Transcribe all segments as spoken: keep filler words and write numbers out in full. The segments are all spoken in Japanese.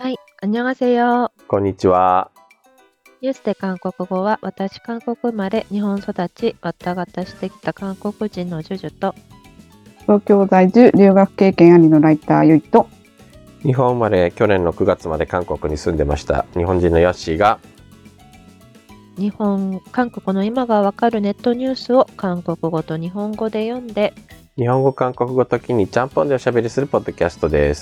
はい、안녕하세요。 こんにちは。 ニュースで韓国語は、私韓国生まれ、日本育ち、わったがたしてきた韓国人のジュジュと、 東京在住、留学経験ありのライターゆいと、 日本生まれ、去年のくがつまで韓国に住んでました日本人のヨッシーが、 日本、韓国の今がわかるネットニュースを韓国語と日本語で読んで、 日本語、韓国語時にちゃんぽんでおしゃべりするポッドキャストです。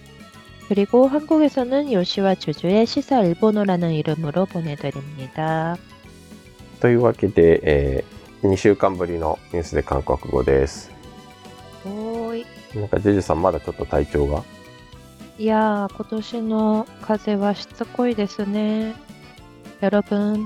그리고 한국에서는 요시와 주주의 시사 일본어라는 이름으로 보내드립니다. というわけで、えー、にしゅうかんぶりのニュースで韓国語です。 おーい。 なんかジェジュさんまだちょっと体調がいやー、今年の風はしつこいですね。여러분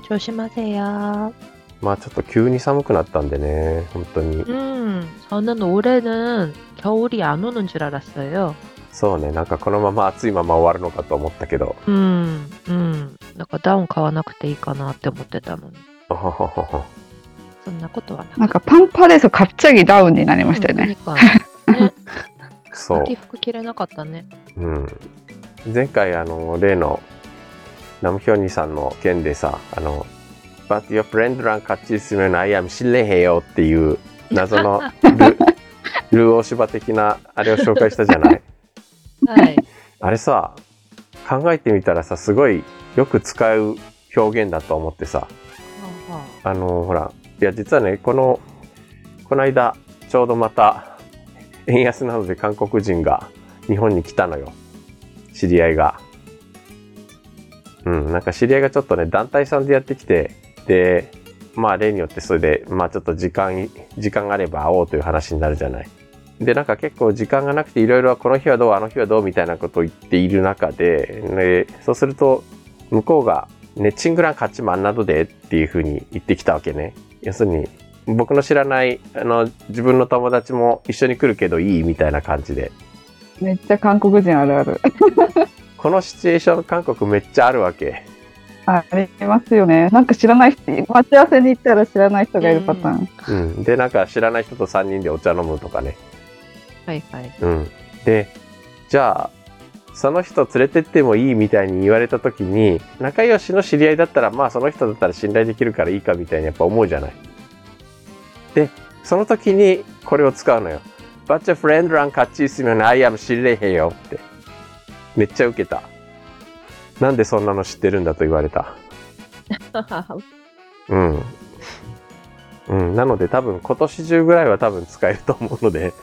조심하세요. まあちょっと急に寒くなったんでね、本当に。 음, 저는 올해는 겨울이 안 오는 줄 알았어요. そうね、なんかこのまま暑いまま終わるのかと思ったけど、 음, 음, なんかダウン買わなくていいかなって思ってたのに、 おほほほほ。 そんなことはなかった。 なんかパンパレス갑자기ダウンになりましたよね。 うん、何かね、 そう、 秋服着れなかったね。 うん、前回あの例のナムヒョンニさんの件でさ、あの But your friend 랑 같이 있으면 I am 실례해요っていう謎のルルー大柴的なあれを紹介したじゃない。 はい。 あれさ、考えてみたらさ、すごいよく使う表現だと思ってさ、あのほら、いや実はね、このこの間ちょうどまた円安なので韓国人が日本に来たのよ、知り合いが。うん、なんか知り合いがちょっとね、団体さんでやってきて、で、まあ例によってそれで、まあちょっと時間、時間があれば会おうという話になるじゃない。で、なんか結構時間がなくていろいろこの日はどう、あの日はどうみたいなことを言っている中で、ね、そうすると向こうが、ね、チングラン勝ちマンなどでっていう風に言ってきたわけね。要するに、僕の知らない、あの、自分の友達も一緒に来るけどいいみたいな感じで。 めっちゃ韓国人あるある。 このシチュエーション韓国めっちゃあるわけ。 ありますよね。なんか知らない人、待ち合わせに行ったら知らない人がいるパターン。 うん。で、なんか知らない人とさんにんでお茶飲むとかね。 はいはい。 うん。で、じゃあ、その人連れてってもいいみたいに言われた時に、仲良しの知り合いだったら、まあその人だったら信頼できるからいいかみたいにやっぱ思うじゃない。で、その時にこれを使うのよ。But your friend 랑 같이 있으면 I am 실례해요って。めっちゃウケた。なんでそんなの知ってるんだと言われた。うん。うん。なので多分今年中ぐらいは多分使えると思うので。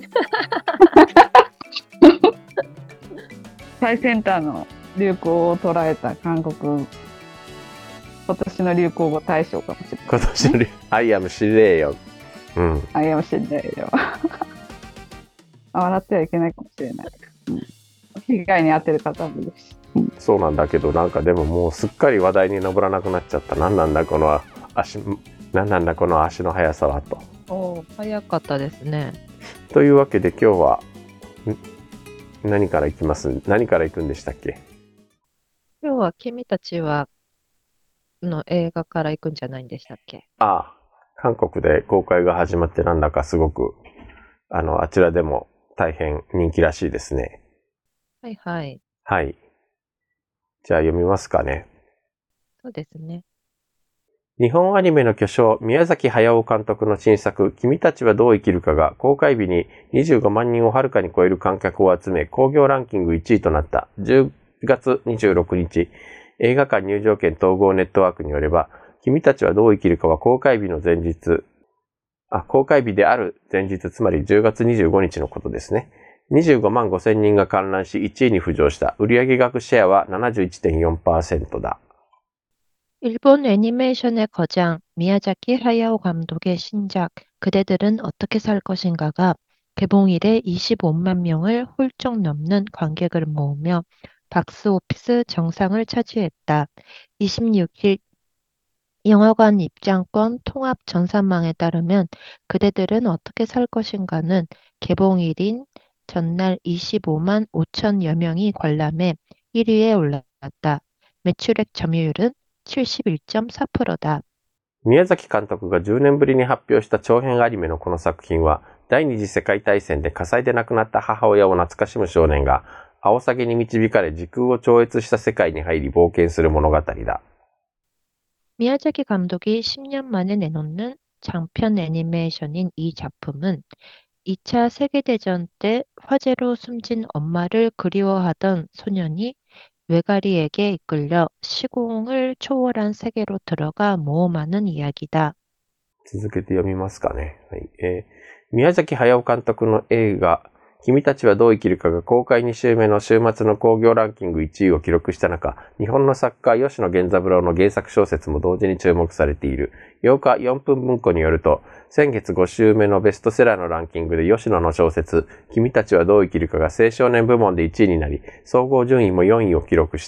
最先端の流行を捉えた韓国、今年の流行語大賞かもしれない。 今年の I am 失礼よ。うん。 あ、いやもしれないよ。笑ってはいけないかもしれない。うん、被害に遭ってる方もいるし。うん、 そうなんだけど、なんかでももうすっかり話題に上らなくなっちゃった。なんなんだこの足、なんなんだこの足の速さはと。 おー、早かったですね。 というわけで今日は何から行きます？何から行くんでしたっけ？ 今日は君たちはの映画から行くんじゃないんでしたっけ？ ああ、韓国で公開が始まってなんだかすごくあのあちらでも大変人気らしいですね。 はいはい。 はい。じゃあ読みますかね。 そうですね。 日本アニメの巨匠、宮崎駿監督の新作、君たちはどう生きるかが公開日ににじゅうごまんにんをはるかに超える観客を集め、興行ランキングいちいとなったじゅうがつにじゅうろくにち、映画館入場券統合ネットワークによれば、君たちはどう生きるかは公開日の前日、あ、公開日である前日、つまりじゅうがつにじゅうごにちのことですね。にじゅうごまんごせんにんが観覧しいちいに浮上した。売上額シェアは ななじゅういってんよんパーセント だ。 일본 애니메이션의 거장 미야자키 하야오 감독의 신작 그대들은 어떻게 살 것인가가 개봉일에 이십오만 명을 훌쩍 넘는 관객을 모으며 박스오피스 정상을 차지했다. 이십육 일 영화관 입장권 통합 전산망에 따르면 그대들은 어떻게 살 것인가는 개봉일인 전날 이십오만 오천여 명이 관람해 일 위에 올랐다. 매출액 점유율은 칠십일 점 사 퍼센트다. 宮崎監督がじゅうねんぶりに発表した長編アニメのこの作品は、第二次世界大戦で火災で亡くなった母親を懐かしむ少年が、 アオサギに導かれ時空を超越した世界に入り冒険する物語だ。 미야자키 감독이 십 년 만에 내놓는 장편 애니메이션인 이 작품은 이 차 세계대전 때 화재로 숨진 엄마를 그리워하던 소년이 외가리에게 이끌려 시공을 초월한 세계로 들어가 모험하는 이야기다. 続けて読みますかね。はい。えー、宮崎駿監督の映画、君たちはどう生きるかが公開に週目の週末の興行ランキングいちいを記録した中、日本の作家吉野源三郎の原作小説も同時に注目されている。ようかよんぷん文庫によると、先月ご週目のベストセラーのランキングで吉野の小説、君たちはどう生きるかが青少年部門でいちいになり、総合順位もよんいを記録した。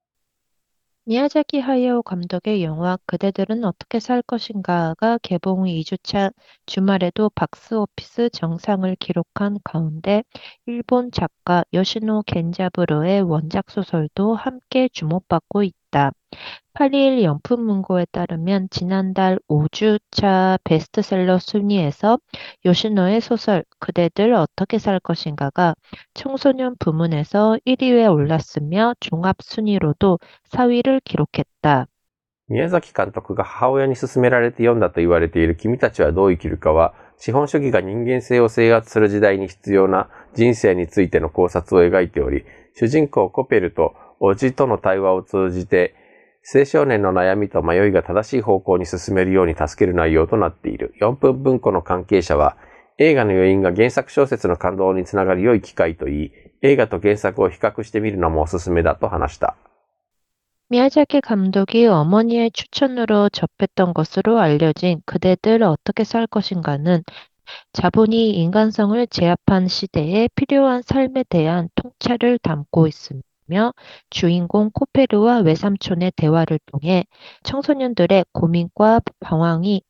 미야자키 하야오 감독의 영화 그대들은 어떻게 살 것인가가 개봉 이 주차 주말에도 박스오피스 정상을 기록한 가운데 일본 작가 요시노 겐자부로의 원작 소설도 함께 주목받고 있다. 팔이일 연품문고에 따르면 지난달 오 주차 베스트셀러 순위에서 요시노의 소설 그대들 어떻게 살 것인가가 청소년 부문에서 일 위에 올랐으며 종합 순위로도 사 위를 기록했다. 宮崎監督が母親に勧められて読んだと言われている君たちはどう生きるかは、資本主義が人間性を制圧する時代に必要な人生についての考察を描いており、主人公コペルと叔父との対話を通じて、青少年の悩みと迷いが正しい方向に進めるように助ける内容となっている。よんぷん文庫の関係者は、映画の余韻が原作小説の感動につながる良い機会といい、映画と原作を比較してみるのもおすすめだと話した。 미야자키 감독이 어머니의 추천으로 접했던 것으로 알려진 그대들 어떻게 살 것인가는 자본이 인간성을 제압한 시대에 필요한 삶에 대한 통찰을 담고 있으며 주인공 코페르와 외삼촌의 대화를 통해 청소년들의 고민과 방황이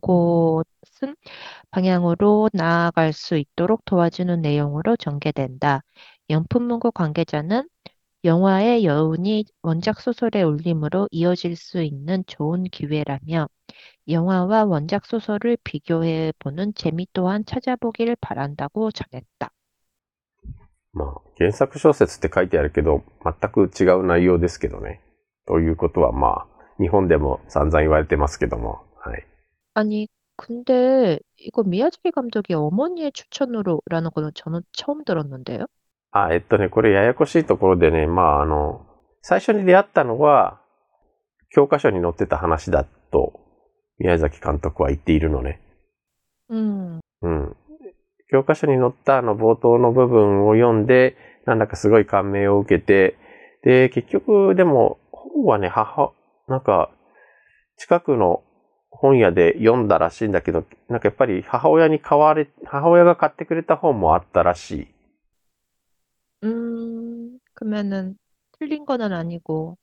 올곧은 방향으로 나아갈 수 있도록 도와주는 내용으로 전개된다. 영품문고 관계자는 영화의 여운이 원작 소설의 울림으로 이어질 수 있는 좋은 기회라며 영화와 원작 소설을 비교해보는 재미 또한 찾아보길 바란다고 전했다. まあ、原作小説って書いてあるけど、全く違う内容ですけどね。ということはまあ、日本でも散々言われてますけども。はい。 아니, 근데 이거 미야자키 감독이 어머니의 추천으로라는 거는 저는 처음 들었는데요. あ、えっとね、これややこしいところでね、まああの、最初に出会ったのは、教科書に載ってた話だと、宮崎監督は言っているのね。 うん。 うん。教科書に載ったあの冒頭の部分を読んで、なんだかすごい感銘を受けて、で、結局でも本はね、母、なんか近くの本屋で読んだらしいんだけど、なんかやっぱり母親に買われ、母親が買ってくれた本もあったらしい。 음, 그러면은 틀린 거는 아니고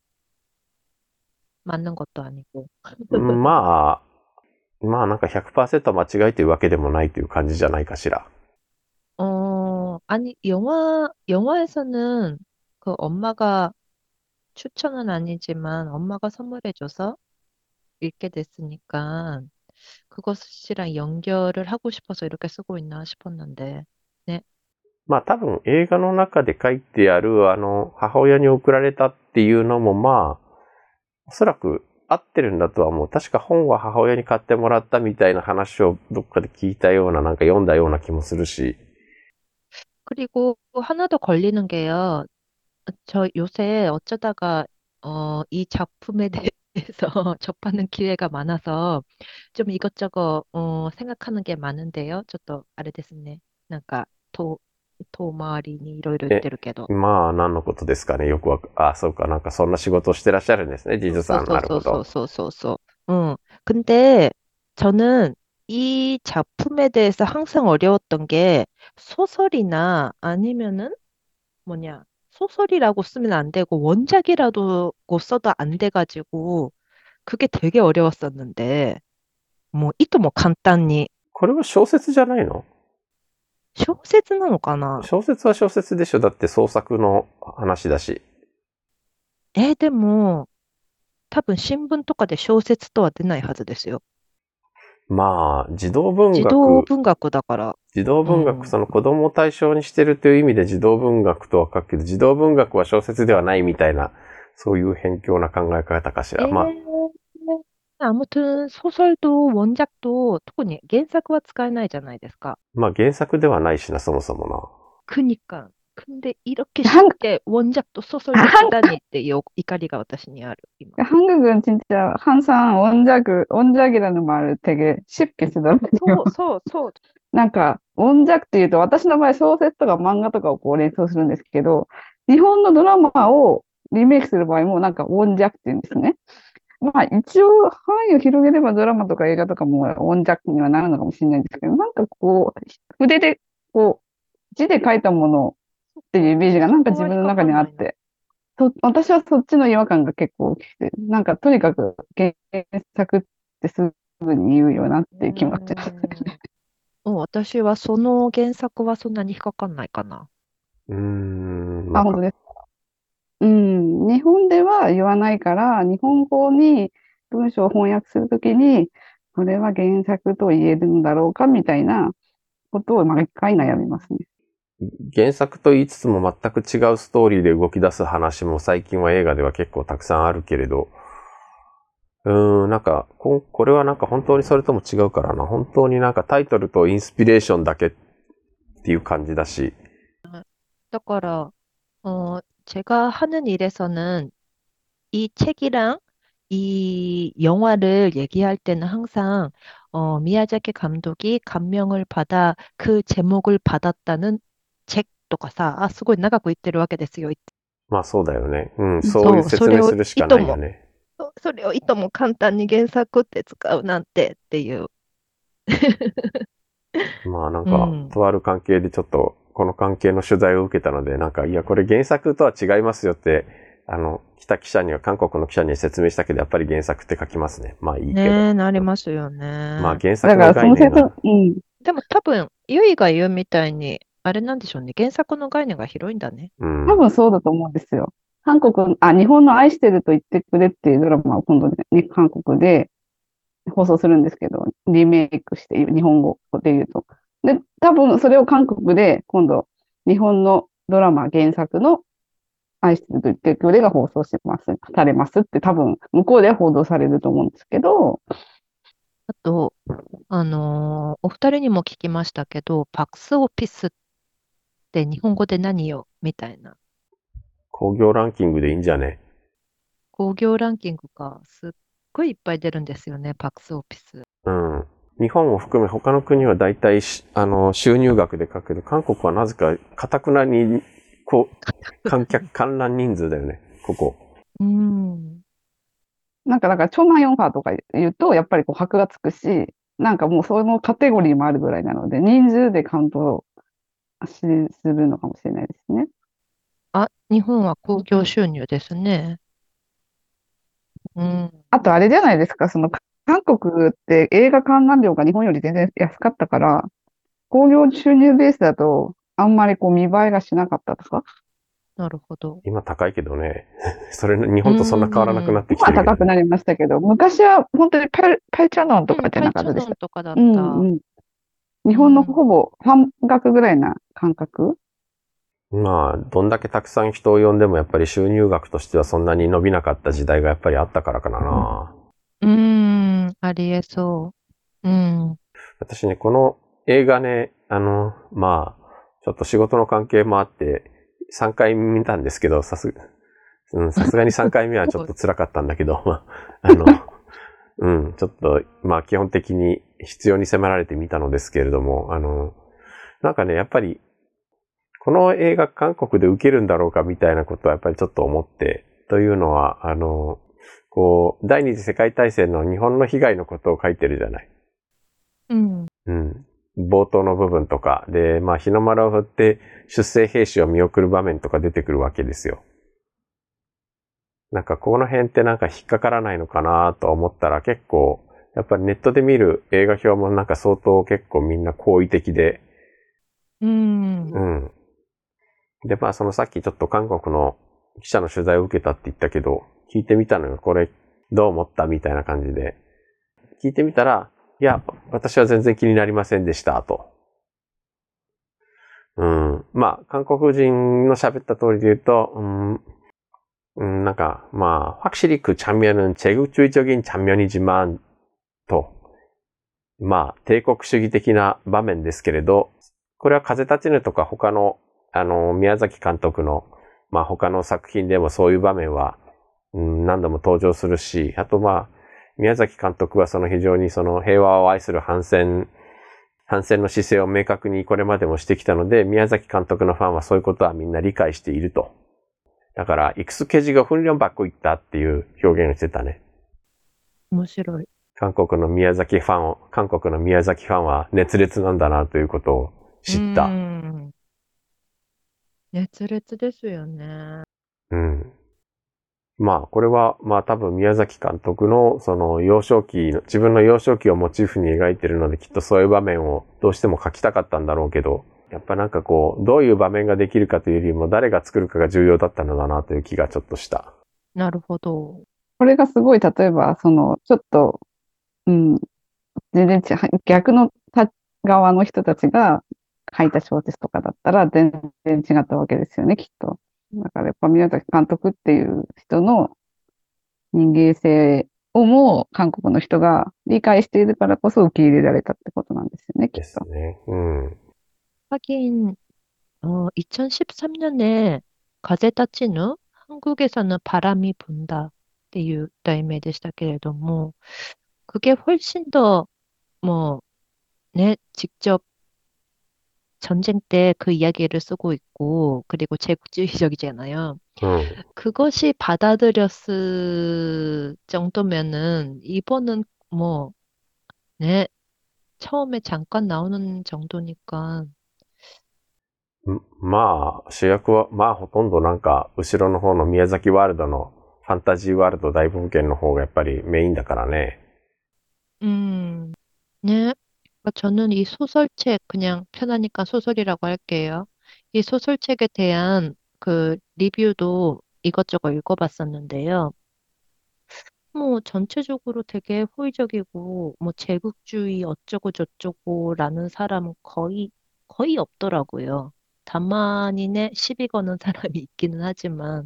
맞는 것도 아니고. まあ、まあなんか ひゃくパーセント 間違えてるわけでもないという感じじゃないかしら。 어, 아니, 영화, 영화에서는 그 엄마가 추천은 아니지만 엄마가 선물해줘서 읽게 됐으니까 그것이랑 연결을 하고 싶어서 이렇게 쓰고 있나 싶었는데, 네. まあ多分映画の中で書いてあるあの母親に送られたっていうのもまあおそらく合ってるんだとは思う。確か本は母親に買ってもらったみたいな話をどっかで聞いたようななんか読んだような気もするし。 그리고 하나 더 걸리는 게요. 저 요새 어쩌다가 어, 이 작품에 대해서 접하는 기회가 많아서 좀 이것저것 어, 생각하는 게 많은데요. 저도 아래ですね。なんかと遠回りにいろいろ言ってるけど。 まあ何のことですかね。よくわか、あ、そうか。なんかそんな仕事をしてらっしゃるんですね。ジズさん。なるほど。 소소소소소소. 응. 근데 저는 이 작품에 대해서 항상 어려웠던 게 소설이나 아니면은 뭐냐, 소설이라고 쓰면 안 되고 원작이라도 써도 안 돼가지고 그게 되게 어려웠었는데 뭐 이또 뭐 간단히 これは小説じゃないの？ 小説なのかな？ 小説は小説でしょ。だって創作の話だし。 え、でも多分新聞とかで小説とは出ないはずですよ。 まあ、児童文児学、 童文学だから。 児童文学、 うんその子供を対象にしてるという意味で児童文学とは書くけど、児童文学は小説ではないみたいな、そういう偏狭な考え方かしら。まあ、 에, 아무튼 소설도 원작도 특히原作は 使えないじゃないですか. まあ原作ではないしな、そもそもな。 그니까. 근데 이렇게 韓 쉽게 원작도 소설도 쓰다니 っていう怒りが私にある,今. 한국은 진짜 항상 원작을, 원작이라는 말을 되게 쉽게 쓰더라고요. そうそうそう。 なんか、원작っていうと、私の場合小説とか漫画とかをこう連想するんですけど、日本のドラマをリメイクする場合もなんか원작って言うんですね。まあ一応範囲を広げればドラマとか映画とかも원작にはなるのかもしれないんですけど、なんかこう、筆で、こう、字で書いたものっていうイメージがなんか自分の中にあって、そ私はそっちの違和感が結構大きくて、なんかとにかく原作ってすぐに言うよなっていう気持ちです。 うん、私はその原作はそんなに引っかかんないかな。 うーん、なあ、 んか、 本当ですか。うん。日本では言わないから、日本語に文章を翻訳するときに、これは原作と言えるんだろうかみたいなことを毎回悩みますね。 原作と言いつつも全く違うストーリーで動き出す話も最近は映画では結構たくさんあるけれど、うーん、なんか、こ、これはなんか本当にそれとも違うからな。本当になんかタイトルとインスピレーションだけっていう感じだし。 그래서 어, 제가 하는 일에서는 이 책이랑 이 영화를 얘기할 때는 항상 어, 미야자키 감독이 감명을 받아 그 제목을 받았다는 책とかさ、あ、すごい長く言ってるわけですよ。 まあそうだよね。うん、そういうそう、それを説明するしかいとも、 ないよね。 そそれをいとも簡単に原作って使うなんてっていう。 まあなんか、 うん。 とある関係でちょっと、この関係の取材を受けたので、なんか、いや、これ原作とは違いますよって、あの、来た記者には、韓国の記者には説明したけど、やっぱり原作って書きますね。まあいいけど。 ねえ、なりますよまあね。 原作のだからその説、 概念が、 うん。 でも多分、ゆいが言うみたいに、あれなんでしょうね。原作の概念が広いんだね。 うん。 多分そうだと思うんですよ。韓国、あ、日本の愛してると言ってくれっていうドラマを今度ね、韓国で放送するんですけど、リメイクして日本語で言うと。で、多分それを韓国で今度日本のドラマ原作の愛してると言ってくれが放送します、されますって多分向こうでは報道されると思うんですけど、 あと、あのーお二人にも聞きましたけど、パックスオフィスって日本語で何よみたいな。 興行ランキングでいいんじゃね？ 興行ランキングがすっごいいっぱい出るんですよね、パックスオフィス。 うん。日本を含め他の国は大体し、あの、収入額で書くけど、韓国はなぜか、かたくなに、こう、観客、観覧人数だよね、ここ。 うん。 なんか、だから、超万四波とか言うと、やっぱりこう、箔がつくし、なんかもうそのカテゴリーもあるぐらいなので、人数でカウントしするのかもしれないですね。 あ、日本は興行収入ですね。うん。 あと、あれじゃないですか、その、韓国って映画観覧料が日本より全然安かったから、興行収入ベースだと、あんまりこう見栄えがしなかったとか。 なるほど。 今高いけどね。それ、日本とそんな変わらなくなってき今はてるけど、 高くなりましたけど、昔は本当にパイ、パイチャノンとうん、 かじゃパイチャなかったでした。 ノンとかだっうんた。 うん。日本のほぼ半額ぐらいな感覚。 まあ、どんだけたくさん人を呼んでもやっぱり収入額としてはそんなに伸びなかった時代がやっぱりあったからかな。 うーん、ありえそう。うん。 私ね、この映画ね、あの、まあ、ちょっと仕事の関係もあって、さんかい見たんですけど、さす、うん、さすがにさんかいめはちょっと辛かったんだけど、まあ、あの、うん、ちょっと、まあ基本的に必要に迫られて見たのですけれども、あの、なんかね、やっぱり、この映画韓国で受けるんだろうかみたいなことはやっぱりちょっと思って、というのは、あの、こう、第二次世界大戦の日本の被害のことを書いてるじゃない。 うん。 うん。冒頭の部分とか、で、まあ日の丸を振って出征兵士を見送る場面とか出てくるわけですよ。なんかこの辺ってなんか引っかからないのかなと思ったら結構、やっぱりネットで見る映画表もなんか相当結構みんな好意的で、 うん。 うん。で、まあそのさっきちょっと韓国の記者の取材を受けたって言ったけど、聞いてみたのよ。これどう思ったみたいな感じで。聞いてみたら、 いや、私は全然気になりませんでした、と。うん。まあ、韓国人の喋った通りで言うと、うん、うん、なんか、まあ、확실히 그 장면은 제국주의적인 장면이지만, 또, まあ、帝国主義的な場面ですけれど、これは風立ちぬとか他の、あの、宮崎監督の、まあ他の作品でもそういう場面は、うん、何度も登場するし、あとまあ、宮崎監督はその非常にその平和を愛する反戦、反戦の姿勢を明確にこれまでもしてきたので、宮崎監督のファンはそういうことはみんな理解していると。だから、익숙해지고 훈련받고 있다っていう表現をしてたね。 面白い。 韓国の宮崎ファンを、韓国の宮崎ファンは熱烈なんだなということを知った。 うーん。熱烈ですよね。 うん。まあ、これは、まあ多分宮崎監督のその幼少期の、自分の幼少期をモチーフに描いてるので、きっとそういう場面をどうしても描きたかったんだろうけど、やっぱなんかこう、どういう場面ができるかというよりも、誰が作るかが重要だったのだなという気がちょっとした。 なるほど。 これがすごい、例えば、その、ちょっと、うん、全然ち逆の側の人たちが書いた小説とかだったら全然違ったわけですよね、きっと。だからやっぱ宮崎監督っていう人の人間性をも韓国の人が理解しているからこそ受け入れられたってことなんですよね、きでっと。 すね。うん。 하긴, 어, 이천십삼 년에 가제 타치누 한국에서는 바람이 분다 っていう題名でしたけれども、 그게 훨씬 더, 뭐, 네, 직접 전쟁 때 그 이야기를 쓰고 있고, 그리고 제국주의적이잖아요. うん。 그것이 받아들였을 정도면은, 이번은 뭐, 네, 처음에 잠깐 나오는 정도니까, まあ、主役は、まあほとんどなんか、後ろの方の宮崎ワールドのファンタジーワールド大冒険の方がやっぱりメインだからね。 음, 네. 그러니까 저는 이 소설책, 그냥 편하니까 소설이라고 할게요. 이 소설책에 대한 그 리뷰도 이것저것 읽어봤었는데요. 뭐 전체적으로 되게 호의적이고 뭐 제국주의 어쩌고 저쩌고라는 사람은 거의 거의 없더라고요. 다만이네 시비 거는 사람이 있기는 하지만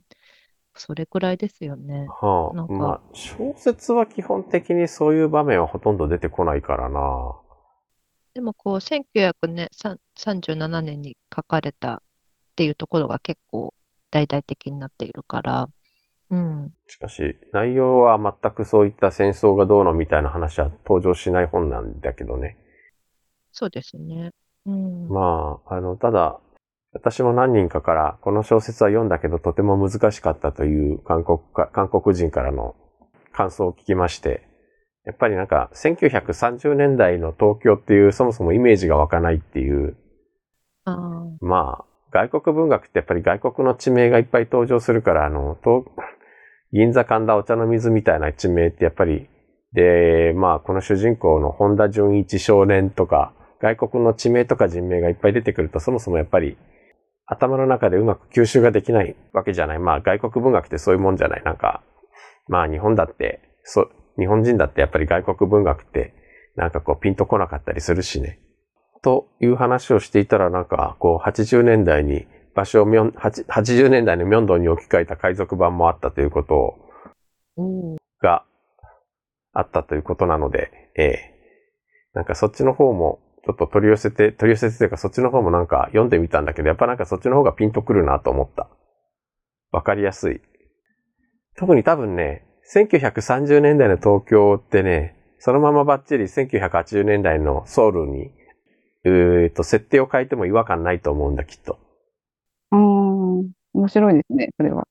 それくらいですよね。 はあ、まなんか、 あ、小説は基本的にそういう場面はほとんど出てこないからな。 でもこう、せんきゅうひゃくさんじゅうななねんに書かれたっていうところが結構大々的になっているから、うん、 しかし、内容は全くそういった戦争がどうのみたいな話は登場しない本なんだけどね。 そうですね。うん、 まあ、あの、ただ、私も何人かからこの小説は読んだけどとても難しかったという韓国か、韓国人からの感想を聞きまして、やっぱりなんかせんきゅうひゃくさんじゅうねんだいの東京っていうそもそもイメージが湧かないっていう、 あーまあ、外国文学ってやっぱり外国の地名がいっぱい登場するから、あの、東銀座神田お茶の水みたいな地名ってやっぱり、で、まあこの主人公の本田純一少年とか、外国の地名とか人名がいっぱい出てくると、そもそもやっぱり頭の中でうまく吸収ができないわけじゃない。まあ外国文学ってそういうもんじゃない。なんか、まあ日本だって、そう、日本人だってやっぱり外国文学ってなんかこうピンとこなかったりするしね。という話をしていたらなんかこうはちじゅうねんだいに場所をミョン、はちじゅうねんだいのミョンドンに置き換えた海賊版もあったということおーがあったということなので、ええ。なんかそっちの方もちょっと取り寄せて、取り寄せてというかそっちの方もなんか読んでみたんだけど、やっぱなんかそっちの方がピンとくるなと思った。わかりやすい。特に多分ね、せんきゅうひゃくさんじゅうねんだいの東京ってね、そのままバッチリせんきゅうひゃくはちじゅうねんだいのソウルに、えーと、設定を変えても違和感ないと思うんだ、きっと。 うーん、面白いですね、それは。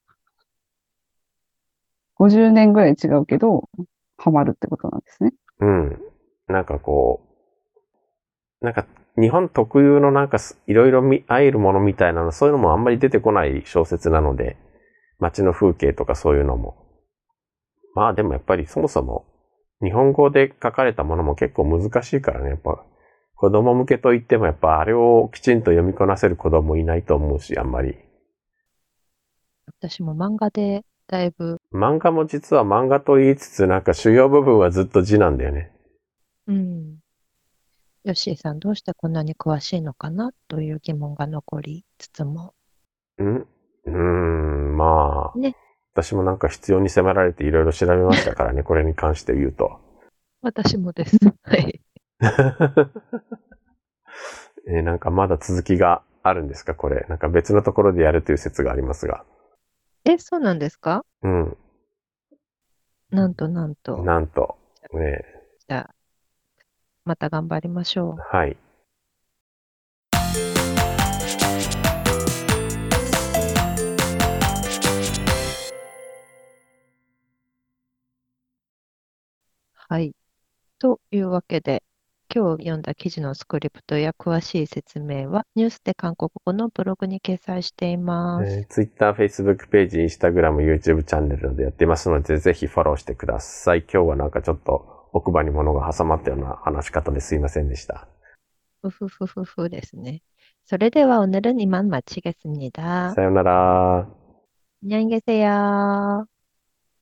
ごじゅうねんぐらい違うけど、ハマるってことなんですね。 うん。なんかこう、なんか日本特有のなんかいろいろ会えるものみたいなの、そういうのもあんまり出てこない小説なので、街の風景とかそういうのも。まあでもやっぱりそもそも日本語で書かれたものも結構難しいからね、やっぱ子供向けといってもやっぱあれをきちんと読みこなせる子供いないと思うし、あんまり。 私も漫画でだいぶ、 漫画も実は漫画と言いつつなんか主要部分はずっと字なんだよね。 うん。ヨッシーさん、どうしてこんなに詳しいのかなという疑問が残りつつも。 んうーん、まあ、 ね。 私もなんか必要に迫られていろいろ調べましたからね、これに関して言うと。 私もです。はい。 えーなんかまだ続きがあるんですか、これ。なんか別のところでやるという説がありますが。 え、そうなんですか？ うん。 なんとなんと。 なんと。ね、 じゃあ、また頑張りましょう。 はい。 はい。というわけで、今日読んだ記事のスクリプトや詳しい説明は、ニュースで韓国語のブログに掲載しています。 えー、Twitter、Facebook ページ、Instagram、YouTube チャンネルなどやってますので、ぜひフォローしてください。今日はなんかちょっと奥歯に物が挟まったような話し方ですいませんでした。 ふふふふふですね。それでは오늘은이만마치겠습니다。 さよなら。 안녕히계세요。